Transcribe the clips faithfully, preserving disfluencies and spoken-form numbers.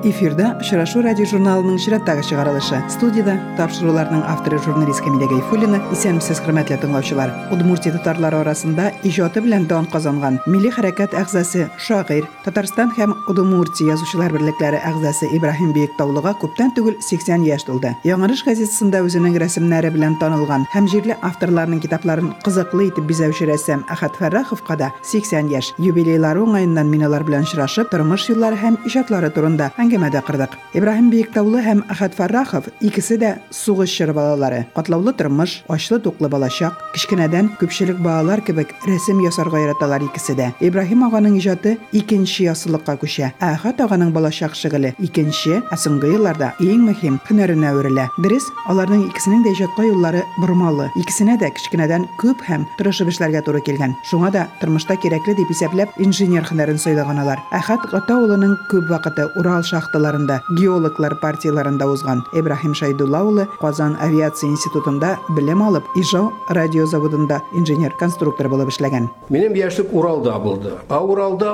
Эфирда «Очрашу» радиожурналының чираттагы чыгарылышы. Студияда тапшыруларның авторы журналист Камилә Гайфуллина. Исәнмесез, хөрмәтле тыңлаучылар. Удмуртия татарлары арасында иҗаты белән дан казанган милли хәрәкәт әгъзасы, шагыйрь, Татарстан һәм Удмуртия язучылар берлекләре әгъзасы Ибраһим Биектаулыга күптән түгел сиксән яшь тулды. Яңарыш газетасында үзенең рәсемнәре белән танылган һәм җирле авторларның китапларын кызыклы итеп бизәүче рәссам Әхәт Фәрраховка да сиксән яшь. Юбилейлары уңаеннан мин алар белән очрашып, тормыш юллары һәм иҗатлары турында әңгәмәдә кырдык. Ибраһим Биектаулы һәм Әхәт Фәррахов икесе дә сугыш чоры балалары. Катлаулы тормыш, ачлы туклы балачак, кичкенәдән күпчелек балалар кебек рәсем ясарга яраталар икесе дә. Ибраһим аганың иҗаты икенче ясылыкка күчә. Әхәт аганың балачак шөгыле икенче, ә соңгы елларда иң мөһим һөнәренә үрелә. Дөрес, аларның икесенең дә иҗатка юллары бормалы. Икесенә дә кичкенәдән күп һәм тырышып эшләргә туры килгән. Шуңа да тормышта кирәкле дип исәпләп инженер һөнәрен сайлаганалар. Әхәт ата улының күп вакыты Урал шахталарында, геологлар партияларында узган. Ибраһим Шайдулла улы Казан авиация институтында белем алып, Ижау радиозаводында инженер-конструктор булып эшләгән. Минем яшьлек Уралда булды. А Уралда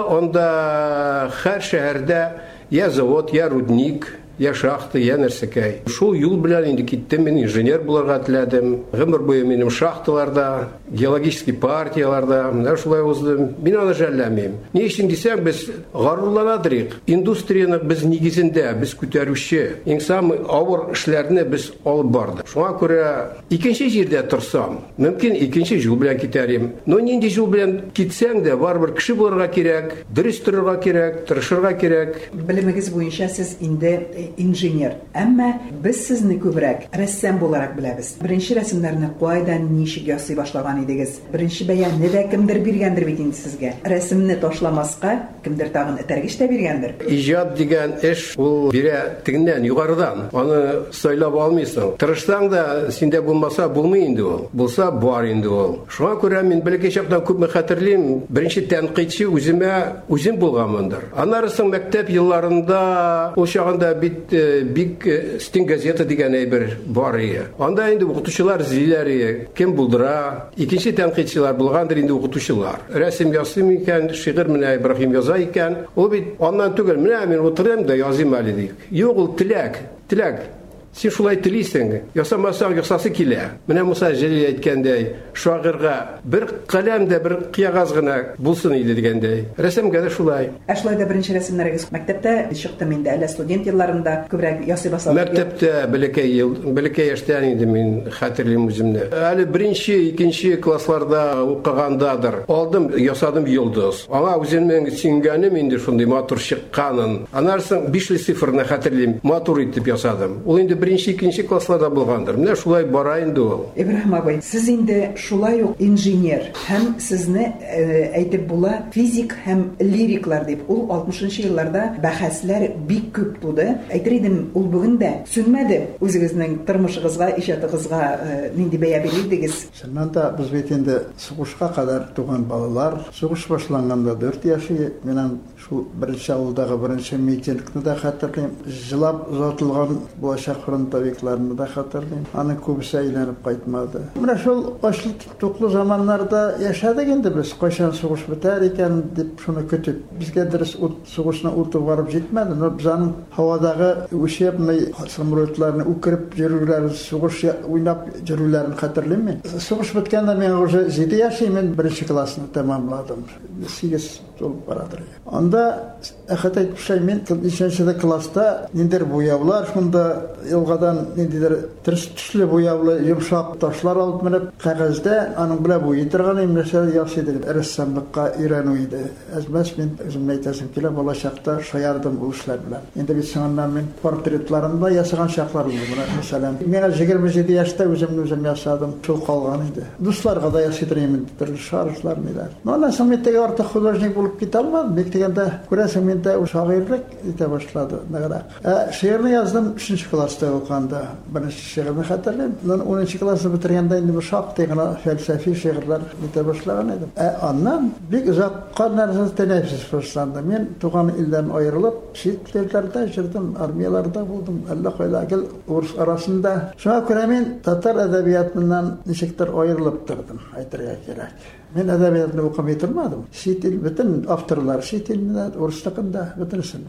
анда һәр шәһәрдә я завод, я рудник, я шахта, я нәрсәкәй. Шул юл белән инде киттем, мин инженер булырга теләдем. Гомер буе минем шахталарда, геологический партияларда, менә шулай уздым. Мин аны жәлләмим. Ни өчен дисәң, без горурланадык. Индустрияны без нигезендә, без күтәрүче, иң самый авыр эшләрне без алып бардык. Шуңа күрә икенче җирдә торсам, мөмкин икенче юл белән китәрим. Но нинди юл белән китсәң дә, барыбер кеше булырга кирәк, дөрес торырга кирәк, тырышырга кирәк. Белемегез буенча сез инде инженер. Әмма без сезне күбрәк рәссам буларак беләбез. Беренче рәсемнәрне кайдан, ничек ясый башлаган идегез? Беренче бәянне дә кемдер биргәндер бит инде сезгә. Рәсемне ташламаска кемдер тагын этәргеч тә биргәндер. Иҗат дигән эш ул бирә тегеннән, югарыдан. Аны сайлап алмыйсың. Тырышсаң да, синдә булмаса булмый инде ул. Булса бар инде ул. Шуңа күрә мин бәлки чактан күпме хәтерлим, беренче тәнкыйтьче үземә үзем булганмындыр. Аннары соң мәктәп елларында ул чагында бит бик стен газета дигән әйбер бар иде. Анда инде укытучылар зиләре кем булдыра, икенче тәнкыйтьчеләр булгандыр инде укытучылар. Рәсем ясыйм икән, шигырь менә Ибраһим яза икән. Ул бит аннан түгел, менә мин утырам да языйм әле дик. Юк, ул теләк, теләк. Син шулай телисең, ясамасаң ясасы килә. Менә Муса Җәлил әйткәндәй, шагыйрьгә бер каләм дә, бер кыягаз гына булсын иде дигәндәй. Рәсемгә дә шулай. Ә шулай да беренче рәсемнәрегез мәктәптә чыкты инде, әле студент елларында күбрәк ясый башладым. Мәктәптә бәләкәй ел, бәләкәй яшьтән инде мин хәтерлим үземне. Әле беренче, икенче классларда укыгандадыр. Алдым, ясадым йолдыз. Аңа үземнең сиңгәнем инде шундый матур чыкканын. Анарсын бишле цифрны хәтерлим, матур итеп ясадым. Ул инде беренче, икенче классларда булгандыр. Менә шулай бара инде ул. Ибраһим абый, сез инде шулай ук инженер һәм сезне әйтеп була физик һәм лириклар дип. Ул алтмышынчы елларда бәхәсләр бик күп туды. Әйтер идем, ул бүген дә сүнмәде. Үзегезнең тормышыгызга, иҗатыгызга нинди бәя бирдегез? Шуннан да без бит инде сугышка кадәр туган балалар, сугыш башланганда дүрт яши, менән шул беренче авылдагы беренче митингны да хәтерлим. Җылап озатылган булачак фронтовикларны да хәтерлим. Аны күбесе әйләнеп кайтмады. Менә шул ачлы туклы заманнарда яшәдек инде без. Кайчан сугыш бетәр икән дип шуны көтеп. Безгә дөрес сугышны утып барып җитмәде. Но безнең һавадагы учебный самолетларны үкереп йөрүләр, сугыш уйнап йөрүләрен хәтерлим мин. Сугыш беткәндә мин уже җиде яшьмен, беренче классны тәмамладым. сигез толып барадыр. Анда әхәт әйтүчә мин икенче класста ниндер буяулар, шунда елгадан ниндидер төрс төсле буяулы йомшак ташлар алып менеп кәгазьдә аның белән буй торган имләшә ясыйдым. Рәссамлыкка өйрәнү иде. Әзмәс мин үзем әйтәсем килә, балачакта шаярдым ул эшләр белән. Инде бит соңыннан мин портретларымда ясаган чаклар булды. Мәсәлән, миңа егерме җиде яшьтә үземне үзем ясадым. Шул калган иде. Дусларга да ясыйдым төрле шарышлар ниләр. Моннан соң мин теге артык художник булып китә алмадым. Бик дигәндә күрәсең миндә шагыйрьлек итә башлады. Нәгәрәк. Ә шигырьне яздым өченче класста укганда. Беренче шигырьне хәтерлим. унынчы классны бетергәндә инде бу шактый гына фәлсәфи шигырьләр итә башлаган идем. Ә аннан бик озакка нәрсә тәнәфес башланды. Мин туган илдән аерылып, чит телләрдә җырдым, армияларда булдым. Әллә кайда гел урыс арасында. Шуңа күрә мин татар әдәбиятыннан ничектер аерылып тордым, әйтергә кирәк. Мен әдәбиятны укымый тормадым. Чит ил бөтен авторлар чит илдә, урыс телендә бөтенсен.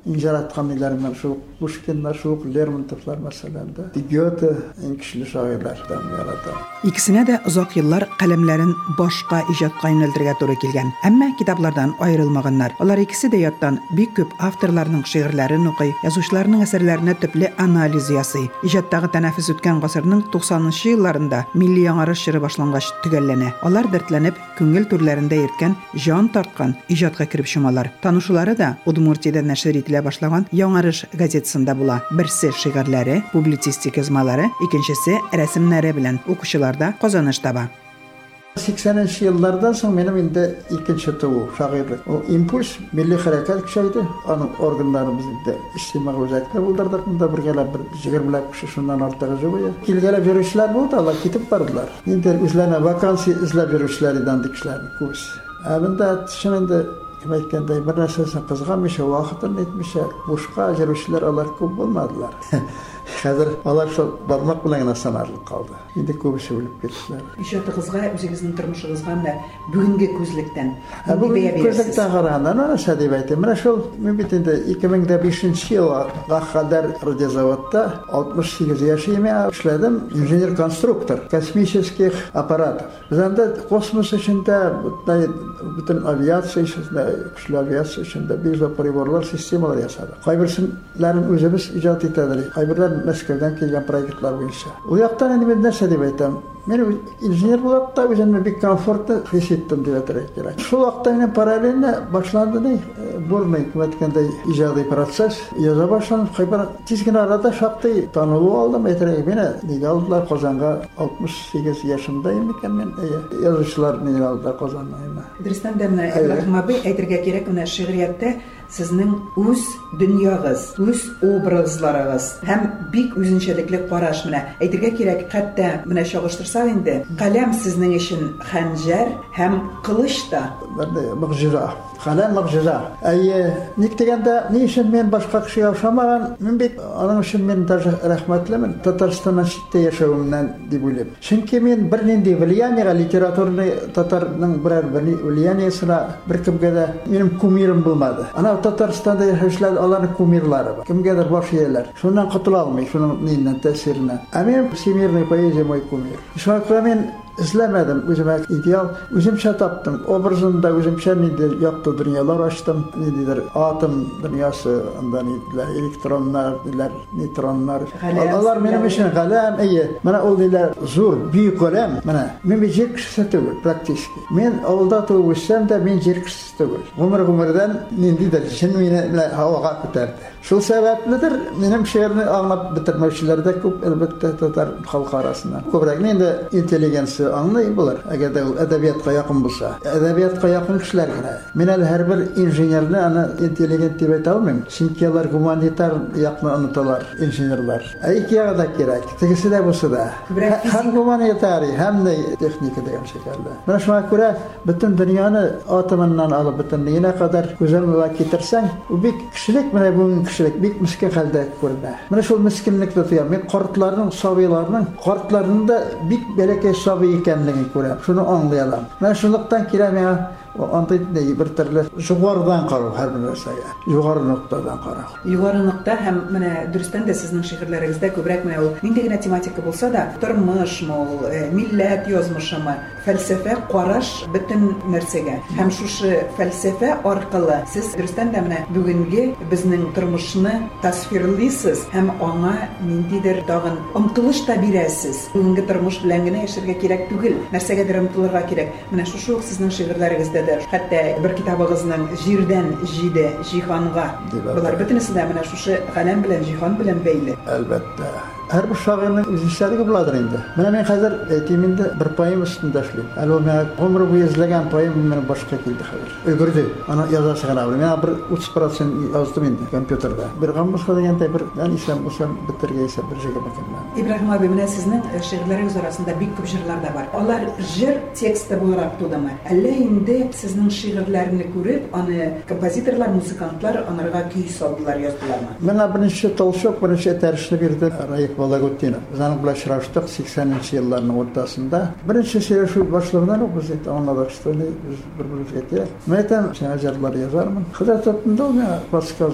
injaratkan ilermen şu Pushkinlar, şu Lermontovlar mesela da Goethe en kişili şairlerden yaratan. İkisine de uzak yıllar kalemlerin başka icatqa yöneldirge doğru kelgen. Әмма kitaplardan ayrılmaganlar. Onlar ikisi de yattan büyük köp авторларның şiirlerini okuy, yazıçlarının eserlerine tüplü analiz yasый. İcatdagı tənəffüs ötken gasırның doksanıncı yıllarında milli яңарыш çırı başlangaç tügellene. Onlar dertlenip küngül türlerinde yetken, jan tartkan icatqa kirip şumalar. Tanışuları da Udmurtiyada nəşr etile başlagan яңарыш gazetesinde bula. Birisi şiirleri, publisistik yazmaları, ikincisi resimleri bilen okuşularda kazanış taba. sekseninci yıllardan sonra benim indi ikinci tuğu şairlik. O impuls milli harekat kişiydi. Onun organlarımızda istimak özellikle buldurdık. Bunda bir gele bir yirmi kişi şundan ortağı jübüye. Kilgele virüsler buldu. Allah gidip vardılar. İndir üzerine vakansi izle virüslerden dikişlerini kurs. Abinde şimdi Kemekende bir nesesine kızgamışa, vakıtını etmişe, boşka virüsler alar köp olmadılar. Hazır alar şu barmak bilen sanarlık kaldı. Şimdi köpüsü ölüp kettiler. İşte kızga özünüzün turmuşuğuzga da bugünkü közlükten. Bugünkü közlükten qaraganda narsa dep aytayım. Mana şol men bitende iki ming beşinci yılga kadar radiozavodda altmış sekiz yaşayım işledim. İnженер konstruktor kosmических аппаратов. Bizde kosmos içinde bütün aviasiya içinde, güçlü aviasiya içinde biz de priborlar sistemalar yasadık. Kaybirsizlerin özümüz icat ededik. Kaybirler Moskovdan kelgen proyektler boyunca. O yaktan endi men narsa dep aytayım. Men inженер булып та өзümü bir komfortlu his ettim diye gerek. Şu vaqtda men paralelinde başlandı ne? Burnu hükümetkende icadi proses. Yaza başlanıp kaybar tizgin arada şaktı tanılı aldım. Eterek beni nege aldılar Kazan'a altmış sekiz yaşındayım iken men yazıcılar nege aldılar Kazan'dayım. Дөрестән дә менә Ибраһим абый әйтергә кирәк, менә шигъриятта сезнең үз дөньягыз, үз образларыгыз һәм бик үзенчәлекле караш менә әйтергә кирәк, хәтта менә чагыштырсак инде, каләм сезнең өчен хәнҗәр һәм кылыч та мөгъҗиза. Kalem mucize. Ay niktegende ne için men başka kişi yaşamagan, men bek onun için men даже rahmetlimin. Tatarstan'da şitte yaşavımdan dibulim. Çünkü men bir nende влияние literatürne Tatarның birer bir влияниесine bir kimge de benim kumirim bulmadı. Ana Tatarstan'da yaşayanlar onların kumirleri var. Kimgedir baş yerler. Şundan kurtula almay, şunun neyinden tesirinden. Amen всемирный поэзия мой кумир. Şu an men izlemedim. Özüme ideal. Özümçe taptım. Obrazında özümçe nedir yaptı dünyalar açtım. Nedir? Atom dünyası, ondan nediler? Elektronlar, neler? Nötronlar. Onlar benim için kalem iyi. Bana o neler zor, büyük kalem. Bana ben bir cer kişisi değil, praktik. Ben avulda doğuşsam da ben cer kişisi değil. Ömür ömürden nedir? Şimdi beni havaga kotardı. Şu sebepledir. Benim şehrini anlayıp bitirmişler de çok elbette Tatar halkı arasında. Köprek neydi? İnteligensi anlayın bular. Eğer de edebiyatga yakın bulsa. Edebiyatga yakın kişiler gene. Men her bir injenerni ana intelligent dep ayta almayım. Çünkü onlar humanitar yakını anıtalar, injenerler. İki yağı da gerek. Tegisi de bulsa da. Hem humanitari hem de tekniki degan şekilde. Mana şuna göre bütün dünyanı atomundan alıp bütün neyine kadar güzel getirsen, o bir kişilik mana bu kişilik bir miskin halde görünür. Mana şu miskinlikte tutuyor. Men qartlarının, sabilarının, qartlarının da bir belki sabi ekenligini görüyorum. Şunu anlayalım. Ben şunluktan kirem ya. O antitneyi bir türlü yukarıdan qarau her bir narsaya. Yukarı noktadan qarau. Yukarı nokta hem менә дөрестән дә сезнең шигырьләрегездә күбрәк менә ул нинди генә тематика булса да, тормышмы ул, милләт язмышымы, фәлсәфә, караш бөтен нәрсәгә. Һәм шушы фәлсәфә аркылы сез дөрестән дә менә бүгенге безнең тормышны тасвирлыйсыз һәм аңа ниндидер тагын омтылыш та бирәсез. Бүгенге тормыш белән генә яшәргә кирәк түгел, нәрсәгәдер омтылырга кирәк. Менә шушы ук сезнең шигырьләрегездә hatta bir kitabınızın jirden jide cihanğa. Bunlar bütünüsü de mana şuşu kalem bilen cihan bilen beyli. Elbette. Her bir şairin öz işleri bulardır indi. Mana men hazır etiminde bir poem üstünde işleyim. Alo men ömrü boyu izlegen poem men başka keldi hazır. Ögürdü. Ana yazasıgan abi. Men bir otuz prosent yazdım indi kompüterda. Bir gammışka degende bir ben isem olsam bitirgeyse bir jege bakamman. İbrahim abi менә сезнең şигырьләрегез арасында бик күп җырлар да бар. Алар җыр тексты буларак тудымы? Әллә инде сезнең шигырьләрне күреп, аны композиторлар, музыкантлар анарга көй салдылар, яздылармы? Мен birinci Tolşok, birinci terşini birdi. Raif Volогодинов. Biz onun bilan şıraştık sekseninci yılların ortasında. Birinci şiir başlarından okuz etti. Anladık işte biz birbirimiz getiriyor. Men aytam, sen ajarlar yazarmın. Hıda topunda olmaya baskı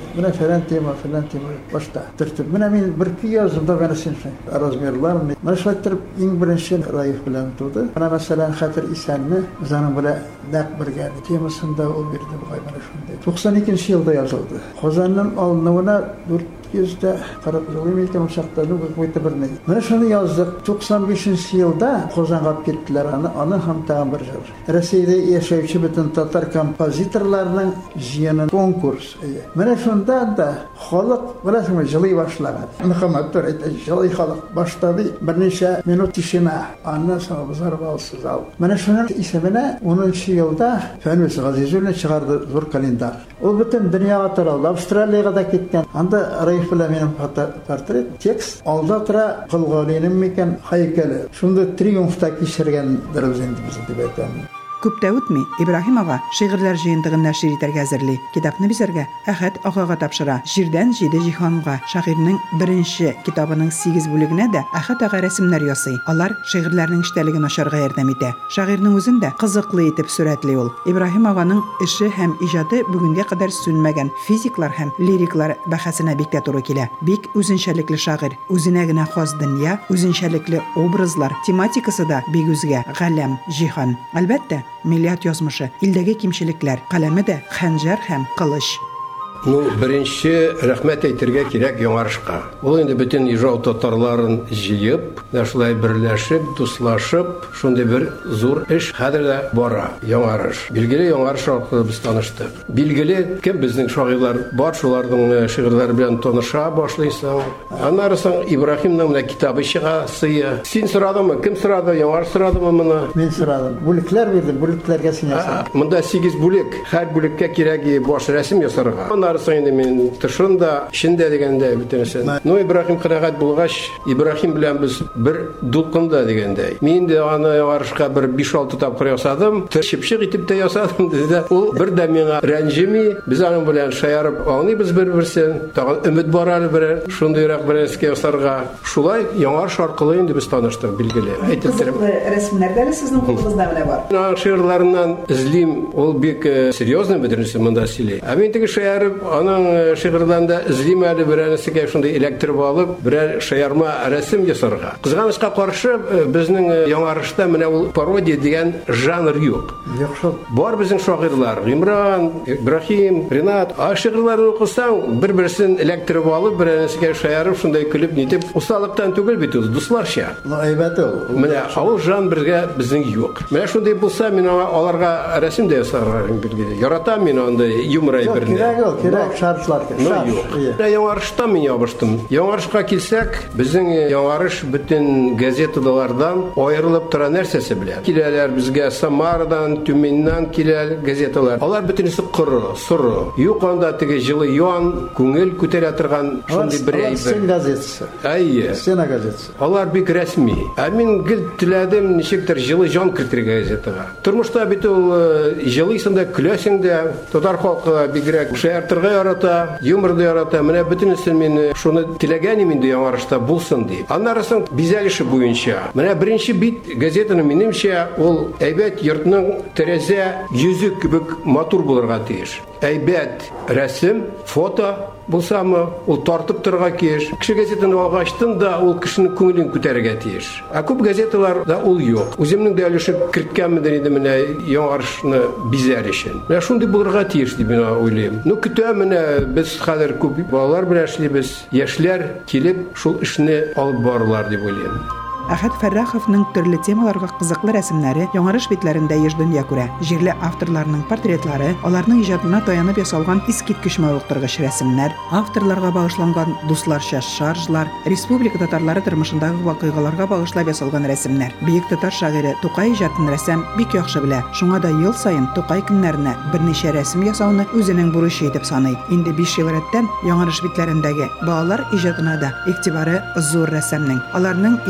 Менә фәлән тема, фәлән тема башта. Төртеп, менә мин бер көй яздым да менә син размерларны. Менә шулай итеп, иң беренче Раиф белән туды. Менә мәсәлән Хәтер Исәнне заның белән нәкъ бергә темасында ул бирде бугай менә шундай. туксан икенче елда язылды. Казанның алынуына дүрт йөз кырык ел икән чакта ну какой-то берне. Менә шуны яздык. туксан бишенче елда Казанга киттеләр аны, аны һәм тагын бер җыр. Россиядә яшәүче бөтен татар композиторларның җыены конкурс. Менә шунда да халык беләсеңме җырлый башлаган. Мөхәммәд төр җырлый халык баштады. Берничә минут тишина. Аннан соң базар балсыз ал. Менә шуның исеменә унынчы елда Фәнүс Газизуллин чыгарды зур календар. Ул бөтен дөньяга таралды. Австралиягә да киткән. Анда Раиф белән минем портрет, текст. Алда тора Кылгалинең микән һәйкәле. Шунда триумфта кичергәндер без инде без дип әйтәм. Күп тә үтми, Ибраһим ага шигырьләр җыентыгын нәшер итәргә әзерли. Китапны бизәргә Әхәт агага тапшыра. Җирдән җиде җиһанга шагыйрьнең беренче китабының сигез бүлегенә дә Әхәт ага рәсемнәр ясый. Алар шигырьләрнең эчтәлеген ачарга ярдәм итә. Шагыйрьнең үзен дә кызыклы итеп сурәтли ул. Ибраһим аганың эше һәм иҗаты бүгенгә кадәр сүнмәгән физиклар һәм лириклар бәхәсенә бик тә туры килә. Бик үзенчәлекле шагыйрь, үзенә генә хас дөнья, үзенчәлекле образлар, тематикасы да бик үзгә, галәм, җиһан. Әлбәттә, милләт язмышы, илдәге кимчелекләр, каләме дә хәнҗәр һәм кылыч. Ну, беренче рәхмәт әйтергә кирәк Яңарышка. Ул инде бөтен Ижау татарларын җыеп, шулай берләшеп, дуслашып, шундый бер зур эш хәзер дә бара. Яңарыш. Билгеле Яңарыш аркылы без таныштык. Билгеле кем безнең шагыйрьләр бар, шуларның шигырьләре белән таныша башлыйсың. Аннары соң Ибраһимның менә китабы чыга, сыя. Син сорадыңмы? Кем сорады? Яңарыш сорадымы моны? Мин сорадым. Бүлекләр бирдем, бүлекләргә син ясадың. Монда сигез бүлек. Һәр бүлеккә кирәк баш рәсем ясарга. Арасында мен тышында, шиндә дигәндә битәсен. Ну Ибраһим кырагат булгач, Ибраһим белән без бер дулкында дигәндәй. Мин дә аны Яңарышка бер биш-алты тапкыр ясадым. Тышыпчык итеп тә ясадым диде. Ул бер дә миңа рәнҗеми, biz аның белән шаярып алныбыз бер-берсен. Тагын өмет бар әле бер шундыйрак бер эскә ясарга. Шулай Яңарыш аркылы инде без таныштык, билгеле. Әйтеп торам. Рәсемнәрдә дә сезнең кулыгызда менә бар. Аның шигырьләреннән излим, ул бик серьезный бөтенесе монда сөйли. Ә мин теге шаярып аның шигырьләрендә излим әле берәрсегә шундый электр алып, берәр шаярма рәсем ясарга. Кызганычка каршы безнең Яңарышта менә ул пародия дигән жанр юк. Яхшы. Бар безнең шагыйрьләр, Гимран, Ибраһим, Ринат, а шигырьләрне укысаң, бер-берсен электр алып, берәрсегә шаярып, шундай көлеп нитеп, усалыктан түгел бит ул, дусларча. Ну әйбәт ул. Менә ул жан бергә безнең юк. Менә шундай булса, мин аларга рәсем дә ясарга билгеле. Яратам мин андай юмор әйберне. Кирәк ул, кирәк шартлар. Яңарышта мин ябыштым. Яңарышка килсәк, безнең Яңарыш бөтен газеталардан аерылып тора нәрсәсе белән. Киләләр безгә Самарадан, Тюменнән киләләр газеталар. Алар бөтенесе кыры, соры. Юк анда теге җылы ян, күңел күтәрә торган шундый бер әйбер. Сен газетасы. Әйе. Сен газетасы. Алар бик рәсми. Ә мин гел теләдем ничектер җылы җан кертергә газетага. Тормышта бит ул җылыйсың да, көләсең дә, татар халкы бигрәк шаяртырга ярата, юморды ярата. Менә бөтенесе мин шуны теләгәнем инде Яңарышта булсын дип. Аннары соң бизәлеше буенча. Менә беренче бит газетаның минемчә ул әйбәт йортның тәрәзә йөзе кебек матур булырга тиеш. Әйбәт рәсем, фото булсамы, ул тартып торырга киеш. Кеше газетаны алгачтын да ул кешенең күңелен күтәрергә тиеш. Ә күп газеталарда ул юк. Үземнең дә өлешен керткәнмендер инде менә Яңарышны бизәр өчен. Менә шундый булырга тиеш дип мин уйлыйм. Ну көтәм менә без хәзер күп балалар белән эшлибез. Яшьләр килеп шул эшне алып барырлар дип уйлыйм. Әхәт Фәрраховның төрле темаларга кызыклы рәсемнәре Яңарыш битләрендә еш дөнья күрә. Җирле авторларның портретлары, аларның иҗатына таянып ясалган искиткеч мавыктыргыч рәсемнәр, авторларга багышланган дусларча шаржлар, республика татарлары тормышындагы вакыйгаларга багышлап ясалган рәсемнәр. Бөек татар шагыйре Тукай иҗатын рәсем бик яхшы белә. Шуңа да ел саен Тукай көннәренә берничә рәсем ясауны үзенең бурычы итеп саный. Инде биш ел рәттән Яңарыш битләрендәге балалар иҗатына да игътибары зур рәсемнең. Аларның иң уңышлы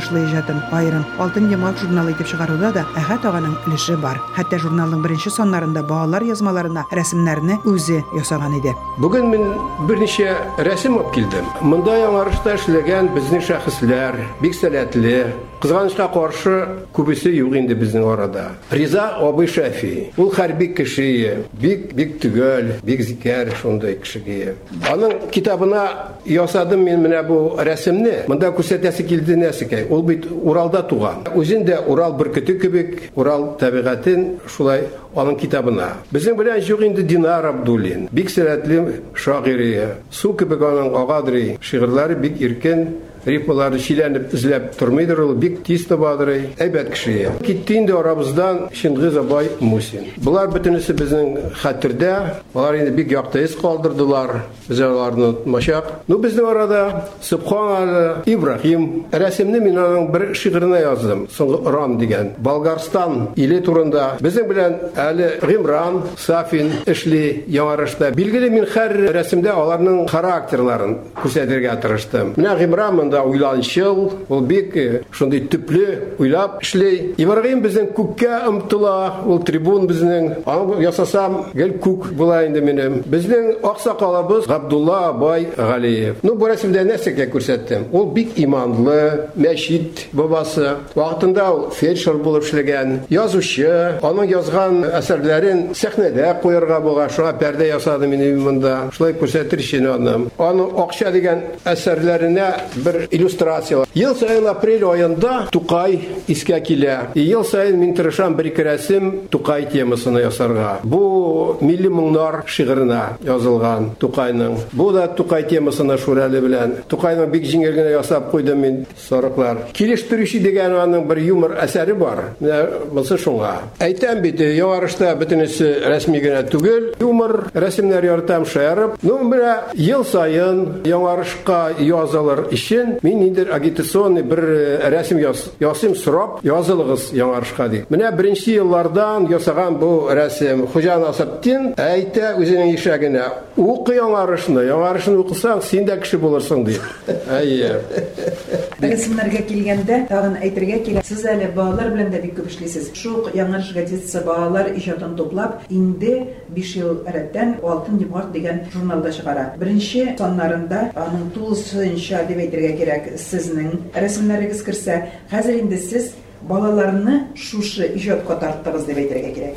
карашлы иҗатын айрым Алтын йомгак журналы итеп чыгаруда да Әхәт аганың өлеше бар. Хәтта журналның беренче саннарында балалар язмаларына рәсемнәрне үзе ясаган иде. Бүген мин берничә рәсем алып килдем. Монда яңарышта эшләгән безнең шәхесләр бик сәләтле, кызганычка каршы күбесе юк инде безнең арада. Риза абый Шафи. Ул хәрби кеше, бик бик түгел, бик зикәр шундый кешегә. Аның китабына ясадым мин менә бу рәсемне. Монда күрсәтәсе килде нәрсәкәй. Ул бит Уралда туган. Үзендә Урал бөркете кебек, Урал табигатен шулай аның китабына. Безнең белән юк инде Динар Абдуллин. Бик сәләтле шагыйрия. Су кебек аның агадри, шигырьләре бик иркен. Рифмалары шиләнеп эзләп тормыйдыр, ул бик тиз табадыр, әйбәт кеше. Китте инде арабыздан Шингиз абай Мусин. Булар бөтенесе безнең хәтердә, алар инде бик якты ис калдырдылар, без аларны онытмашак. Ну безнең арада Субхан Ибрахим рәсемне мин аның бер шигырына яздым, соңгы Рам дигән. Болгарстан иле турында безнең белән әле Гимран Сафин эшли яңарышта. Билгеле мин һәр рәсемдә аларның характерларын күрсәтергә тырыштым. Менә Гимран уйланчыл, ул бик шундый төпле уйлап эшли. Ибрагим безнең күккә омтыла, ул трибун безнең. Аны ясасам, гел күк була инде минем. Безнең аксакалыбыз Габдулла абай Галиев. Ну бу рәсемдә нәрсәгә күрсәттем? Ул бик иманлы, мәчит бабасы. Вакытында ул фельдшер булып эшләгән, язучы. Аның язган әсәрләрен сәхнәдә куярга булган, шуңа пәрдә ясады минем монда. Шулай күрсәтер өчен аны. Аның акча дигән әсәрләренә бер иллюстрация. Ел сайын апрель айында Тукай искә килә. Ел сайын мин тырышам бер рәсем Тукай темасына ясарга. Бу милли моңнар шигырына язылган Тукайның. Бу да Тукай темасына шурәле белән. Тукайның бик җиңел генә ясап куйдым мин сарыклар. Килештерүче дигән аның бер юмор әсәре бар. Менә булса шуңа. Әйтәм бит, яңарышта бөтенесе рәсми генә түгел. Юмор рәсемнәр яратам шаярып. Ну менә ел сайын яңарышка язылыр өчен мин инде агитационный бер рәсем яз, ясым сорап язылыгыз яңарышка ди. Менә беренче еллардан ясаган бу рәсем Хуҗа Насыптин әйтә үзенең ишәгенә: "Укы яңарышны, яңарышны укысаң, син дә кеше булырсың" ди. Әйе. Рәсемнәргә килгәндә, тагын әйтергә кирәк, сез әле балалар белән дә бик күп эшлисез. Шул яңарыш газетасы балалар иҗатын туплап, инде биш ел рәттән Алтын йомгак дигән журналда чыгара. Беренче саннарында аның тулысынча дип әйтергә кирәк, сезнең рәсемнәрегез керсә, хәзер инде сез балаларны шушы иҗатка тарттыгыз дип әйтергә кирәк.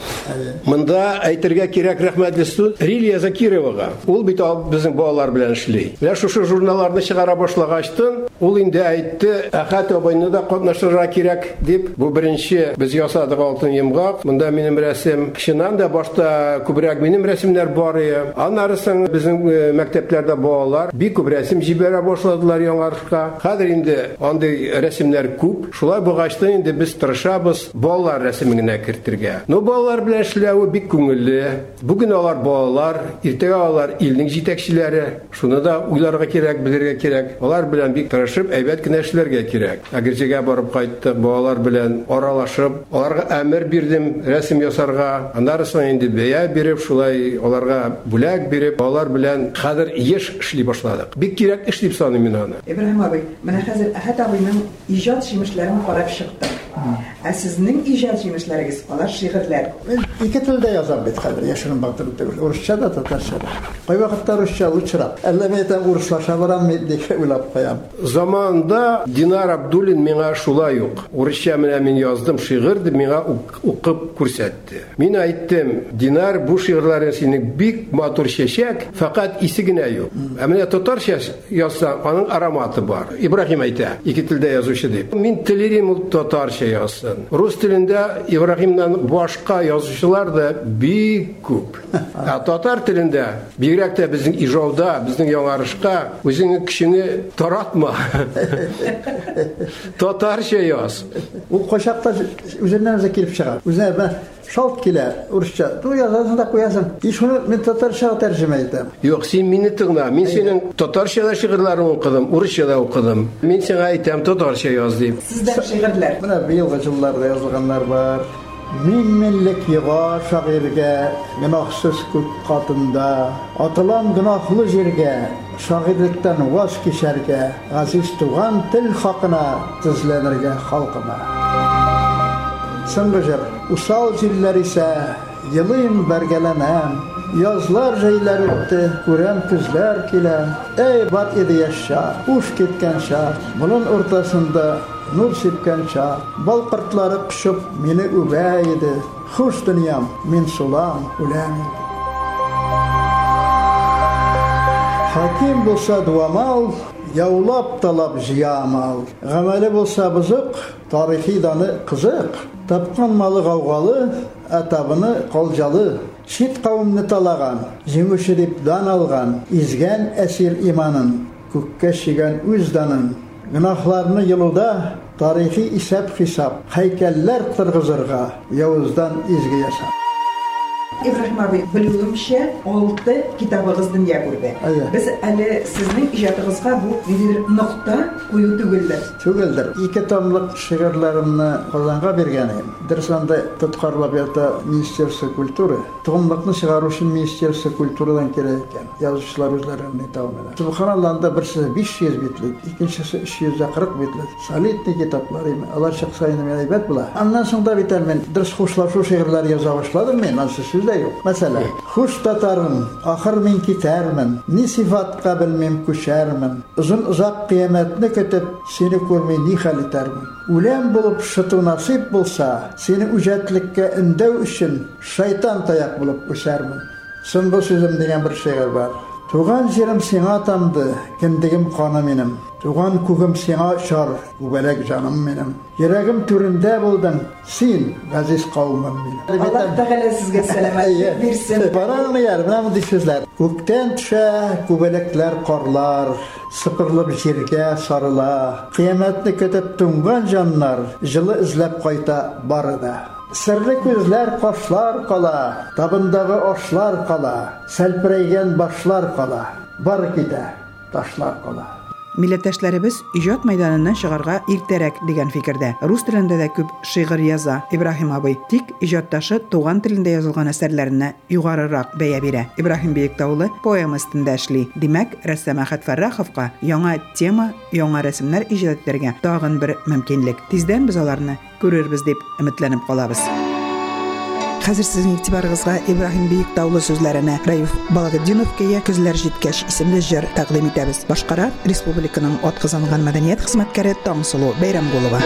Монда әйтергә кирәк рәхмәтле студент Рилия Закировага. Ул бит безнең балалар белән эшли. Менә шушы журналларны чыгара башлагачтын, ул инде әйтте, Әхәт абайны да катнашырга кирәк дип. Бу беренче без ясадык Алтын йомгак. Монда минем рәсем, кешенән дә башта күбрәк минем рәсемнәр бар иде. Аннарысын безнең мәктәпләрдә балалар бик күп рәсем җибәрә башладылар яңарышка. Хәзер инде андый рәсемнәр күп. Шулай булгачтын инде без тырышабыз балалар рәсеменә кертергә. Ну балалар белән эшләү бик күңелле. Бүген алар балалар, иртәгә алар илнең җитәкчеләре. Шуны да уйларга кирәк, белергә кирәк. Алар белән бик тырышып, әйбәт кенә эшләргә кирәк. Агырҗыга барып кайттык, балалар белән аралашып, аларга әмер бирдем рәсем ясарга. Аннарысын инде бәя биреп, шулай аларга бүләк биреп, балалар белән хәзер еш эшли башладык. Бик кирәк эш дип саныйм мин аны. Ибраһим абый, менә хәзер Әхәт абыйның иҗат җимешләрен карап чыктым. Ә сезнең иҗат җимешләрегез, алар шигырьләр. Мин ике телдә язам бит хәзер, яшерен бактырып түгел. Урысча да, татарча да. Кай вакытта урысча лучрак. Әллә мен әйтәм урыслаша барам дип уйлап куям. Заманда Динар Абдуллин миңа шулай ук. Урысча менә мин яздым шигырь дип миңа укып күрсәтте. Мин әйттем, Динар, бу шигырьләрең синең бик матур чәчәк, фақат исе генә юк. Ә менә татарча язсаң, аның ароматы бар. Ибраһим әйтә, ике телдә язучы дип. Мин телерим ул татарча язсын. Рус телендә Ибраһимнан башка язучылар да бик күп. Ә татар телендә бигрәк тә безнең ижауда, безнең яңарышка үзеңне кешене таратма. Татарча яз. Ул кайчакта үзеннән үзе килеп чыга. Үзенә шалт килә, урысча. Ту язасың да куясың. И шуны мен татарча тәрҗемә итәм. Юк, син мине тыңла. Мин синең татарча шигырьләрен укыдым, урысча да укыдым. Мин сиңа әйтәм, татарча яз дип. Сездә шигырьләр. Менә быелгы җылларда язылганнар бар. Мин милләт йыга шагыйрьгә, гөнаһсыз күк катында, атылам гөнаһлы җиргә, şagirlikten vaz geçerge, aziz tuğan til hakına tizlenirge halkıma. Sıngıcır, usal ziller ise yılıyım bergelenem, yazlar jeyler öttü, kurem kızlar kile, ey bat idi yaşa, uş ketken şah, bunun ortasında nur sepken şah, bal qırtları kışıp meni übeydi, hoş dünyam, min sulam, ulam. Hakim bulsa duamal, yavlap talap jiyamal. Gameli bulsa bızık, tarihi danı kızık. Tapkan malı gavgalı, etabını kolcalı. Şit kavimni talagan, jimüşirip dan algan. İzgen esir imanın, kukke şigen üzdanın. Günahlarını yılıda, tarihi isep hisap. Heykeller tırgızırga, Yavuzdan izgi yasap. İbrahim abi, bildiğimce altı kitabınızdan yapıldı. Biz әле sizin icadınızga bu bir nokta koyu tügüldür. Tügüldür. İki tomluk şiirlerimni Kazan'a bergenim. Dersanda tutkarlap yata Ministerstvo kulturi. Tomlukni çıgarı için Ministerstvo kulturadan gereken yazıcılar özlerini devam eder. Subhanallah'da birisi beş yüz bitlik, ikincisi üç yüz kırk bitlik. Solidni kitapları, Allah şahsayını meybet bula. Ondan sonra biter men ders hoşlaşu şiirler yaza başladım men. Nasıl sizde yok. Mesela, huş tatarım, ahır min kitermin, ni sifat kabilmim kuşermin, uzun uzak kıyametini kötüp seni görmeyi ni hal itermin. Ulen bulup şıtı nasip bulsa, seni ücretlikke indev için şeytan tayak bulup üsermin. Son bu sözüm degen bir şiir var. Tuğan jerim sena atamdı, kendigim kanım benim. Tuğan kugum sena şar, ubelek canım benim. Yüreğim türünde buldun, sen gaziz kavmim benim. Allah Teala sizge selamet versin. Bana ne yer, bana mı düşüzler? Gökten düşe, kubelekler korlar, sıpırlıp jirge sarıla. Kıyametini kötüp tungan canlar, jılı izlep kayta barıda. Sırrı gözler koşlar kala, tabındağı oşlar kala, selpireygen başlar kala, bar gide taşlar kala. Milletteshlerimiz ijod maydanından çıgarga irterek degan fikirde. Rus tilinde de köp şiir yaza İbrahim abi. Tik ijoddaşı tuğan tilinde yazılgan eserlerine yugarırak beya bire. İbrahim Beyiktaoğlu poema stinde eşli. Demek ressam Ahmet Farrahovga yanga tema, yanga resimler ijod etlerge dağın bir mümkinlik. Tizden biz olarını görürüz dep ümitlenip kalabız. Hazır sizin itibarınızga İbrahim Beyiktaoğlu sözlerine Raif Balagiddinovka'ya Közler Jitkəş isimli jir taqdim etəbiz. Başqara Respublikanın atqızanğan madaniyat xizmatkari Tangsulu Beyramgulova.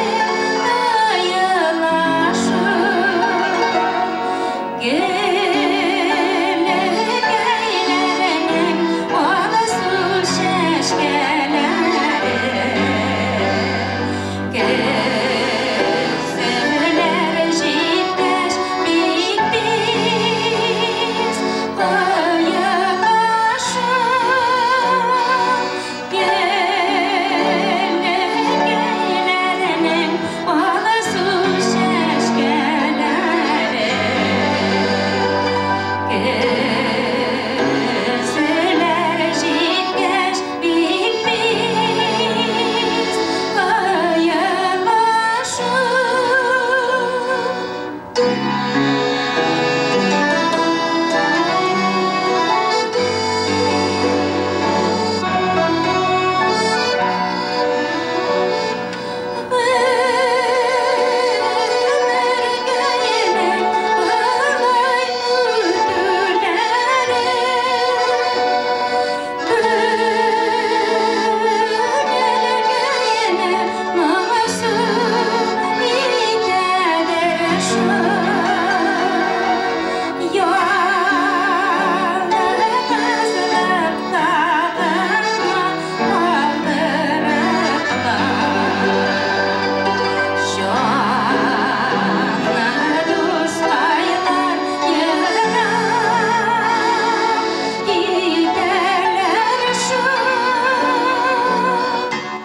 Yeah.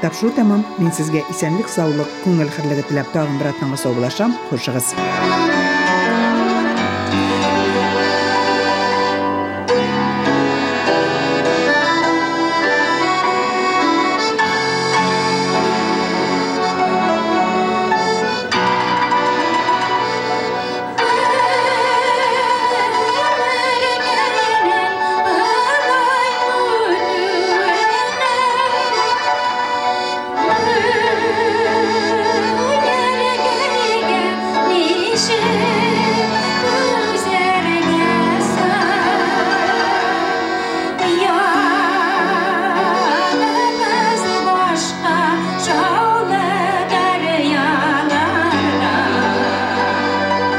Тапшыру тәмам. Мен сезгә исәнлек, саулык, күңел хирлеге теләп тагын бер атнага сау булашам. Хушыгыз.